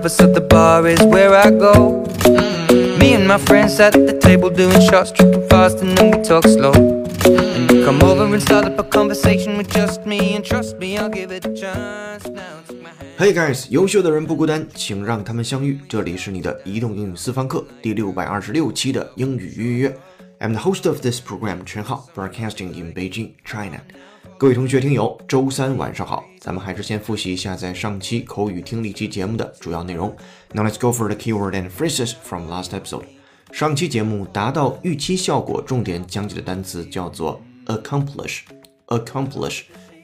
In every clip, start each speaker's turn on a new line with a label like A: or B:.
A: so the bar is where I go. Me and my friends at the table doing shots, tripping fast and then we talk slow. And you come over and start up a conversation with just me, and trust me, I'll give it a chance. Now take my hand.
B: Hey guys， 优秀的人不孤单，请让他们相遇。这里是你的移动英语私房课第626期的英语约约。I'm the host of this program, 陈浩 broadcasting in Beijing, China. 各位同学听友，周三晚上好，咱们还是先复习一下在上期口语听力期节目的主要内容。Now let's go for the keyword and phrases from last episode. 上期节目达到预期效果，重点讲解的单词叫做 accomplish,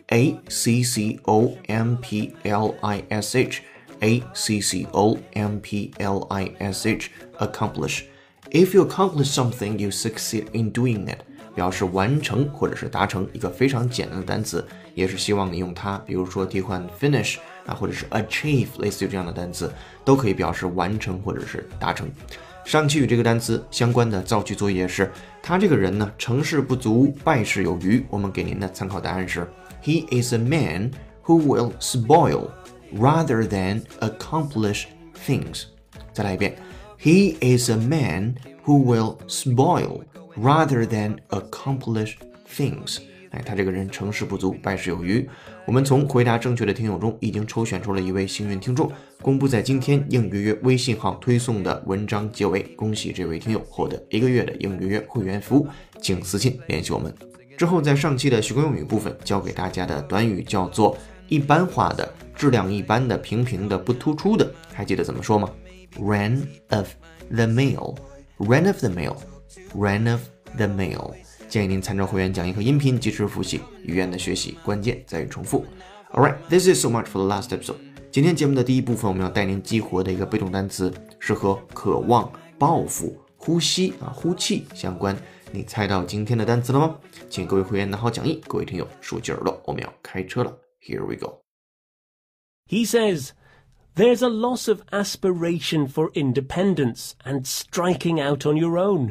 B: accomplish.If you accomplish something, you succeed in doing it. 表示完成或者是达成一个非常简单的单词，也是希望你用它，比如说替换 finish 或者是 achieve 类似于这样的单词，都可以表示完成或者是达成。上期与这个单词相关的造句作业是，他这个人呢，成事不足，败事有余。我们给您的参考答案是 He is a man who will spoil rather than accomplish things. 再来一遍 He is a man who will spoil rather than accomplish things. 他这个人成事不足，败事有余。我们从回答正确的听友中已经抽选出了一位幸运听众，公布在今天应约约微信号推送的文章结尾。恭喜这位听友获得1个月的应约约会员服务，请私信联系我们。之后在上期的习惯用语部分教给大家的短语叫做一般化的、质量一般的、平平的、不突出的，还记得怎么说吗？ Run of the mail, run of the mail, run of the mail。建议您参照会员讲义和音频及时复习。语言的学习关键在于重复。Alright, this is so much for the last episode. 今天节目的第一部分，我们要带您激活的一个被动单词是和渴望、抱负、呼吸呼气相关。你猜到今天的单词了吗？请各位会员拿好讲义，各位听友竖起耳朵，我们要开车了。Here we go.
C: He says, there's a loss of aspiration for independence and striking out on your own.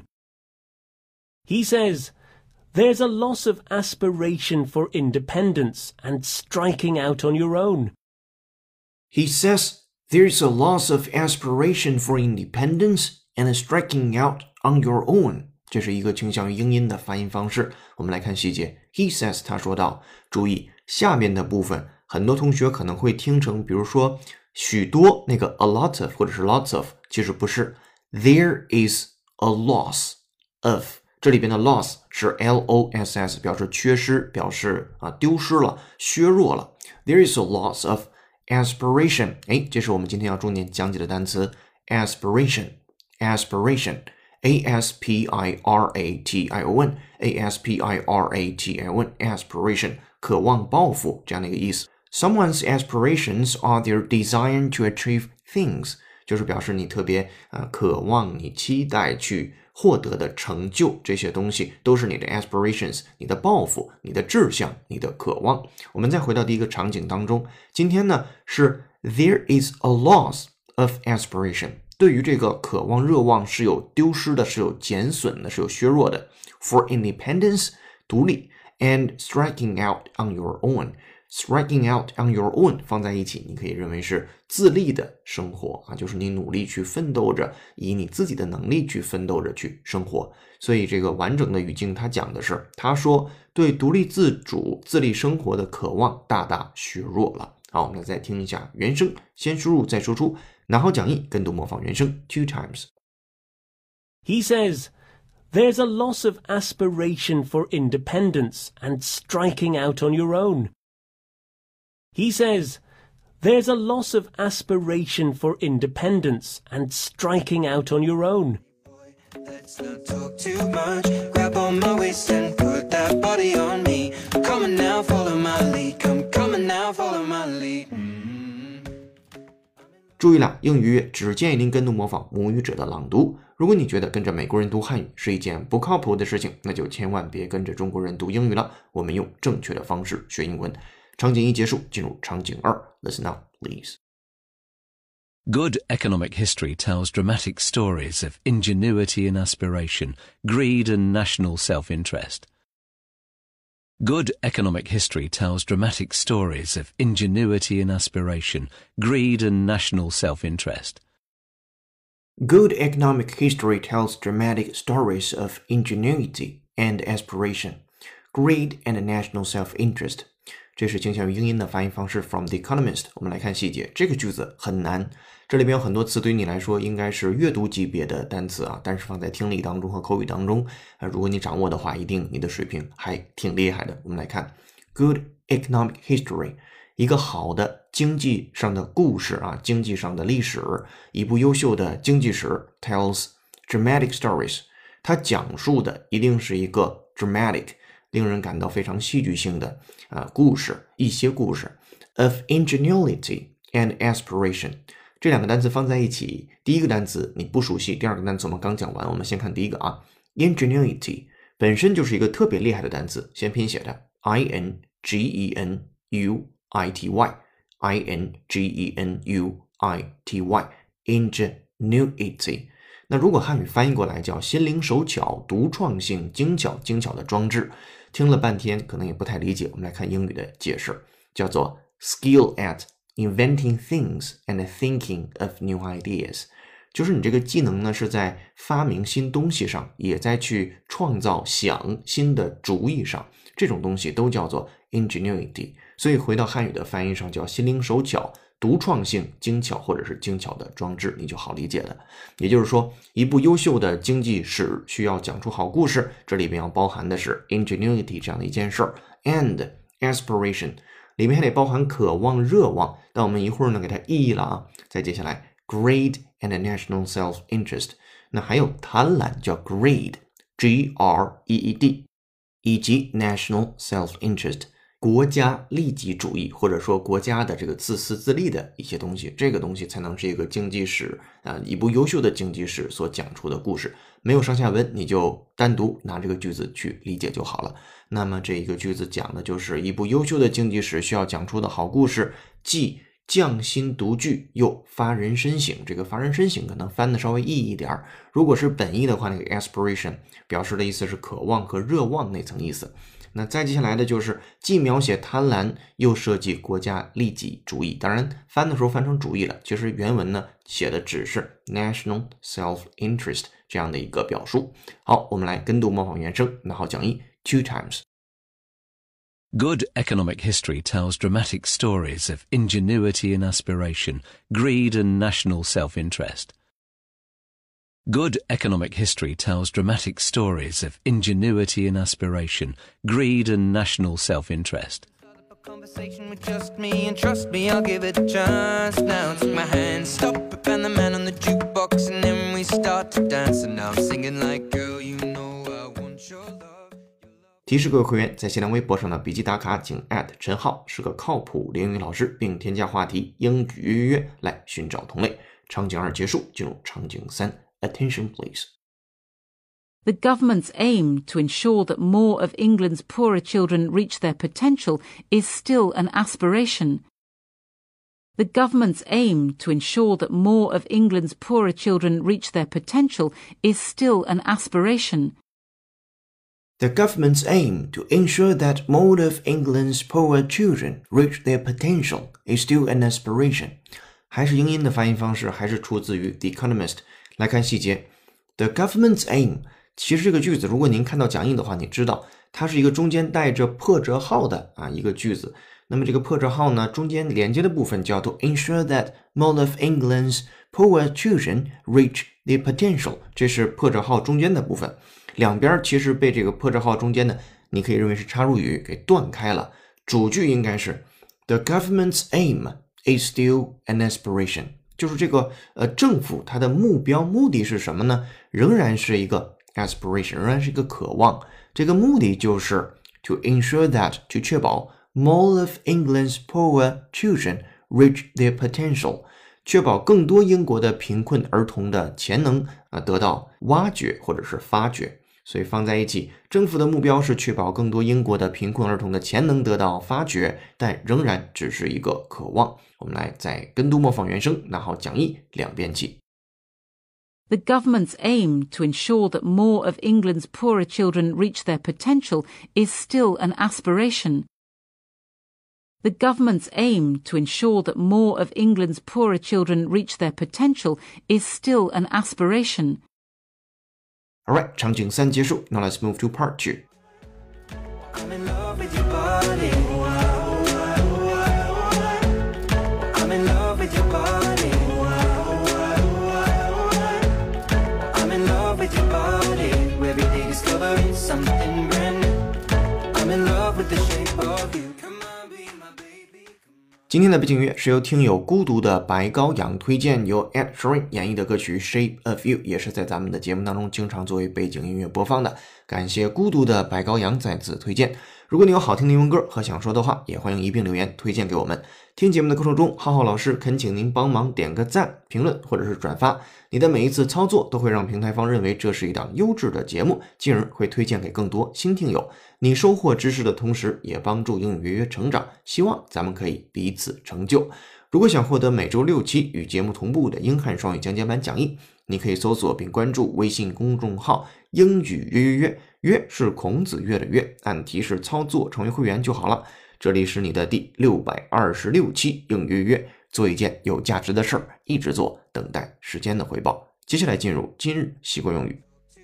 C: He says, there's a loss of aspiration for independence and striking out on your own.
B: He says, there's a loss of aspiration for independence and striking out on your own. 这是一个倾向于英音的发音方式。我们来看细节。He says, 他说道，注意下面的部分，很多同学可能会听成，比如说许多那个 a lot of 或者是 lots of， 其实不是。There is a loss of， 这里边的 loss 是 loss， 表示缺失，表示丢失了，削弱了。There is a loss of aspiration， 这是我们今天要重点讲解的单词 aspiration aspiration 渴望抱负这样的一个意思。Someone's aspirations are their desire to achieve things， 就是表示你特别渴望，你期待去获得的成就，这些东西都是你的 aspirations， 你的抱负，你的志向，你的渴望。我们再回到第一个场景当中，今天呢是 there is a loss of aspiration， 对于这个渴望热望是有丢失的，是有减损的，是有削弱的。For independence， 独立 and striking out on your own。Striking out on your own 放在一起，你可以认为是自立的生活就是你努力去奋斗着，以你自己的能力去奋斗着去生活。所以这个完整的语境它讲的是，他说对独立自主、自立生活的渴望大大削弱了。好，我们再听一下原声，先输入再输出，拿好讲义，跟读模仿原声 two times.
C: He says, there's a loss of aspiration for independence and striking out on your own.He says, there's a loss of aspiration for independence and striking out on your own.
A: Let's not talk too much. Grab on my waist and put that body on me. Come on now, follow my lead. Come on now, follow my lead.
B: 注意了，英语只建议您跟读模仿母语者的朗读。如果你觉得跟着美国人读汉语是一件不靠谱的事情，那就千万别跟着中国人读英语了。我们用正确的方式学英文。场景一结束，进入场景二。Listen up, please.
D: Good economic history tells dramatic stories of ingenuity and aspiration, greed and national self-interest. Good economic history tells dramatic stories of ingenuity and aspiration, greed and national self-interest.
B: Good economic history tells dramatic stories of ingenuity and aspiration, greed and national self-interest. 这是倾向于英音的发音方式 from The Economist。 我们来看细节，这个句子很难，这里边有很多词对于你来说应该是阅读级别的单词啊，但是放在听力当中和口语当中如果你掌握的话，一定你的水平还挺厉害的。我们来看 Good economic history， 一个好的经济上的故事啊，经济上的历史，一部优秀的经济史 tells dramatic stories， 它讲述的一定是一个 dramatic令人感到非常戏剧性的故事，一些故事 of ingenuity and aspiration。 这两个单词放在一起，第一个单词你不熟悉，第二个单词我们刚讲完，我们先看第一个啊 ingenuity 本身就是一个特别厉害的单词，先拼写的 ingenuity，ingenuity，ingenuity。 那如果汉语翻译过来叫心灵手巧、独创性、精巧的装置，听了半天可能也不太理解，我们来看英语的解释，叫做 skill at inventing things and thinking of new ideas， 就是你这个技能呢是在发明新东西上，也在去创造想新的主意上，这种东西都叫做 ingenuity。 所以回到汉语的翻译上叫心灵手巧、独创性、精巧或者是精巧的装置，你就好理解了。也就是说，一部优秀的经济史需要讲出好故事，这里边要包含的是 ingenuity 这样的一件事儿 and aspiration， 里面还得包含渴望、热望，但我们一会儿呢给它意译了啊。再接下来 greed and national self-interest， 那还有贪婪叫 greed G-R-E-E-D， 以及 national self-interest国家利己主义，或者说国家的这个自私自利的一些东西，这个东西才能是一个经济史一部优秀的经济史所讲出的故事。没有上下文，你就单独拿这个句子去理解就好了。那么这一个句子讲的就是一部优秀的经济史需要讲出的好故事，既匠心独具又发人深省。这个发人深省可能翻的稍微意义一点，如果是本意的话，那个 aspiration 表示的意思是渴望和热望那层意思。那再接下来的就是既描写贪婪又涉及国家利己主义，当然翻的时候翻成主义了，其实原文呢写的只是 national self-interest 这样的一个表述。好，我们来跟读模仿原声，拿好讲义 two times。
D: Good economic history tells dramatic stories of ingenuity and aspiration, greed and national self-interest. Good economic history tells dramatic stories of ingenuity and aspiration, greed and national self-interest.
A: Conversation with just me, and trust me, I'll give it a chance. Now take my hand, stop it, and the man on the jukebox, and then we start to dance. And now I'm singing like, girl, you know I want your love.
B: 提示各位会员，在新浪微博上的笔记打卡，请陈浩，是个靠谱英语老师，并添加话题英语约约来寻找同类。场景2结束，进入场景3。Attention, please.
E: The government's aim to ensure that more of England's poorer children reach their potential is still an aspiration. The government's aim to ensure that more of England's poorer children reach their potential is still an aspiration.
B: The government's aim to ensure that more of England's poorer children reach their potential is still an aspiration. 还是英音的发音方式，还是出自于 The Economist。来看细节 The government's aim， 其实这个句子如果您看到讲义的话，你知道它是一个中间带着破折号的一个句子。那么这个破折号呢，中间连接的部分叫做 ensure that more of England's poorer children reach their potential， 这是破折号中间的部分。两边其实被这个破折号中间的你可以认为是插入语给断开了，主句应该是 The government's aim is still an aspiration，就是这个政府它的目的是什么呢？仍然是一个 aspiration， 仍然是一个渴望。这个目的就是 to ensure that， 去确保 more of England's poorer children reach their potential， 确保更多英国的贫困儿童的潜能得到挖掘或者是发掘。所以放在一起，政府的目标是确保更多英国的贫困儿童的潜能得到发掘，但仍然只是一个渴望。我们来再跟读模仿原声，拿好讲义2遍起。
E: The government's aim to ensure that more of England's poorer children reach their potential is still an aspiration. The government's aim to ensure that more of England's poorer children reach their potential is still an aspiration.
B: Alright, 场景3结束。Now let's move to part 2.
A: I'm in love with your body. I'm in love with your body. I'm in love with your body. Every day discovering something brand new. I'm in love with the shape of you. Come on, be my baby.
B: 今天的背景音乐是由听友孤独的白羔羊推荐，由 Ed Sheeran 演绎的歌曲 Shape of You， 也是在咱们的节目当中经常作为背景音乐播放的。感谢孤独的白羔羊再次推荐。如果你有好听的英文歌和想说的话，也欢迎一并留言推荐给我们。听节目的过程中，浩浩老师恳请您帮忙点个赞、评论或者是转发。你的每一次操作都会让平台方认为这是一档优质的节目，进而会推荐给更多新听友。你收获知识的同时，也帮助英语约约成长。希望咱们可以彼此成就。如果想获得每周6期与节目同步的英汉双语讲解版讲义，你可以搜索并关注微信公众号英语约约约，约是孔子约的约，按提示操作成为会员就好了。这里是你的第626期英语约约，做一件有价值的事儿，一直做，等待时间的回报。接下来进入今日习惯用语。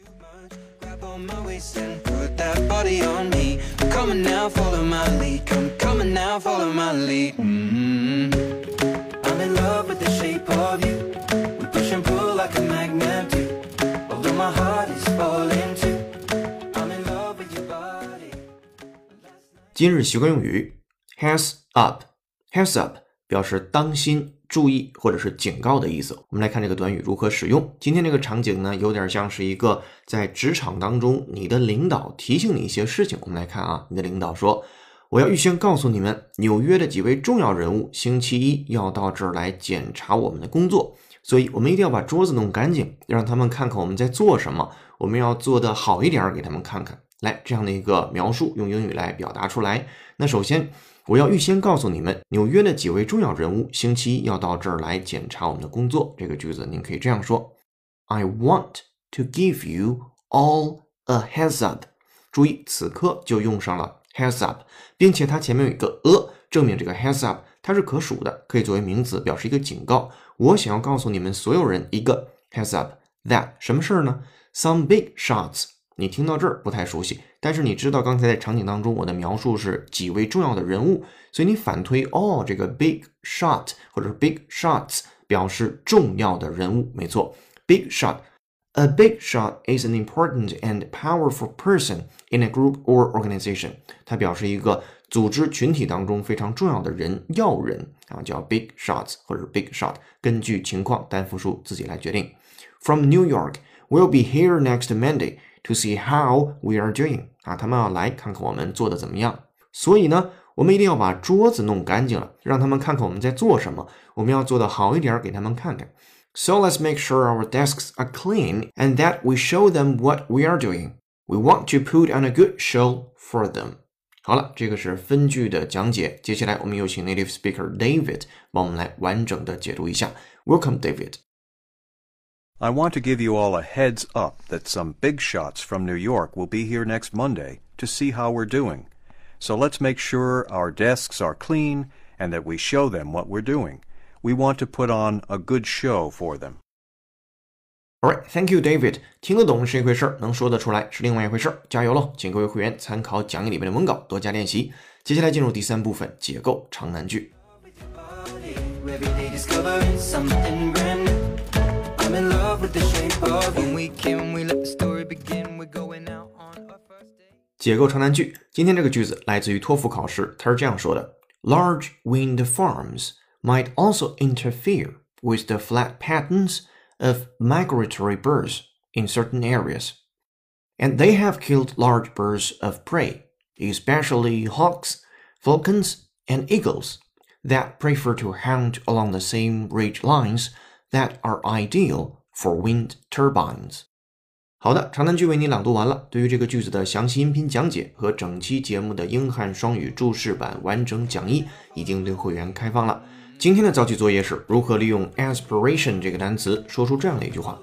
A: I'm in love with the shape of you. We push and pull like a magnet do. Although my heart is falling too. I'm in love with your body.
B: 今日习惯用语 Heads up Heads up 表示当心、注意或者是警告的意思。我们来看这个短语如何使用。今天这个场景呢，有点像是一个在职场当中你的领导提醒你一些事情。我们来看啊，你的领导说，我要预先告诉你们，纽约的几位重要人物星期一要到这儿来检查我们的工作，所以我们一定要把桌子弄干净，让他们看看我们在做什么，我们要做得好一点给他们看看。来，这样的一个描述用英语来表达出来。那首先，我要预先告诉你们，纽约的几位重要人物星期一要到这儿来检查我们的工作。这个句子您可以这样说 I want to give you all a heads up。 注意此刻就用上了 heads up， 并且它前面有一个证明这个 heads up 它是可数的，可以作为名词表示一个警告。我想要告诉你们所有人一个 heads up that 什么事呢？ Some big shots。 你听到这儿不太熟悉，但是你知道刚才在场景当中我的描述是几位重要的人物，所以你反推这个 big shot 或者是 big shots 表示重要的人物，没错 big shot。A big shot is an important and powerful person in a group or organization。 它表示一个组织群体当中非常重要的人，要人啊，叫 big shots 或者 big shot， 根据情况单复数自己来决定。From New York, we'll be here next Monday to see how we are doing。 啊，他们要来看看我们做的怎么样。所以呢，我们一定要把桌子弄干净了，让他们看看我们在做什么，我们要做得好一点给他们看看。So let's make sure our desks are clean and that we show them what we are doing. We want to put on a good show for them. 好了，这个是分句的讲解。接下来我们有请 native speaker David 帮我们来完整的解读一下。Welcome, David.
F: I want to give you all a heads up that some big shots from New York will be here next Monday to see how we're doing. So let's make sure our desks are clean and that we show them what we're doing.We want to put on a good show for them.
B: Alright, thank you, David. 听得懂是一回事，能说得出来是另外一回事。加油喽！请各位会员参考讲义里面的文稿，多加练习。接下来进入第3部分，解构长难句。解构长难句，今天这个句子来自于托福考试，它是这样说的 ：Large wind farms might also interfere with the flight patterns of migratory birds in certain areas. And they have killed large birds of prey, especially hawks, falcons, and eagles, that prefer to hunt along the same ridge lines that are ideal for wind turbines. 好的，长难句为你朗读完了。对于这个句子的详细音频讲解和整期节目的英汉双语注释版完整讲义已经对会员开放了。今天的造句作业是如何利用 aspiration 这个单词说出这样的一句话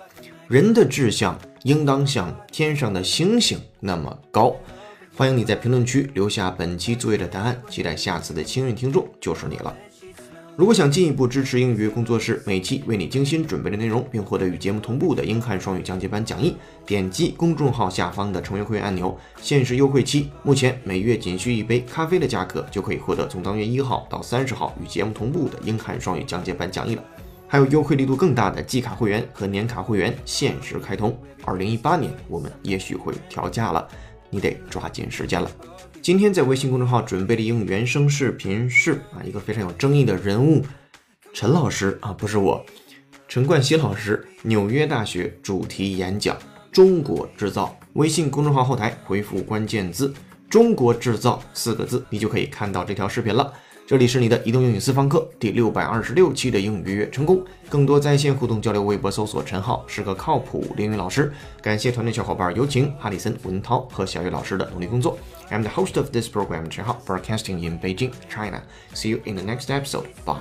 B: 人的志向应当像天上的星星那么高。欢迎你在评论区留下本期作业的答案，期待下次的幸运听众就是你了。如果想进一步支持英语工作室每期为你精心准备的内容，并获得与节目同步的英汉双语讲解版讲义，点击公众号下方的成为会员按钮，限时优惠期，目前每月仅需一杯咖啡的价格就可以获得从当月1号到30号与节目同步的英汉双语讲解版讲义了。还有优惠力度更大的季卡会员和年卡会员限时开通，2018年我们也许会调价了，你得抓紧时间了。今天在微信公众号准备的英语原声视频是一个非常有争议的人物，陈老师不是我，陈冠希老师纽约大学主题演讲中国制造。微信公众号后台回复关键字中国制造4个字，你就可以看到这条视频了。这里是你的移动英语私房课第626期的英语月成功，更多在线互动交流，微博搜索陈浩是个靠谱英语老师。感谢团队小伙伴有请哈里森、文涛和小叶老师的努力工作。I'm the host of this program, Chen Hao, broadcasting in Beijing, China. See you in the next episode. Bye.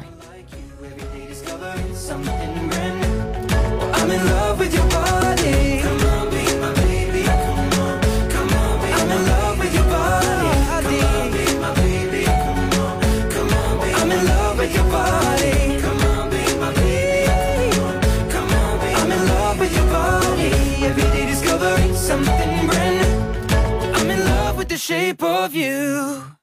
A: I'm in love with your body. Come on, be my baby. Come on, come on, be I'm in love with your body. Come on, be my baby. Come on, come on, be I'm in love with your body. Come on, be my baby. Come on, be I'm in love with your body. Every day discovering something brand new. I'm in love with the shape of you.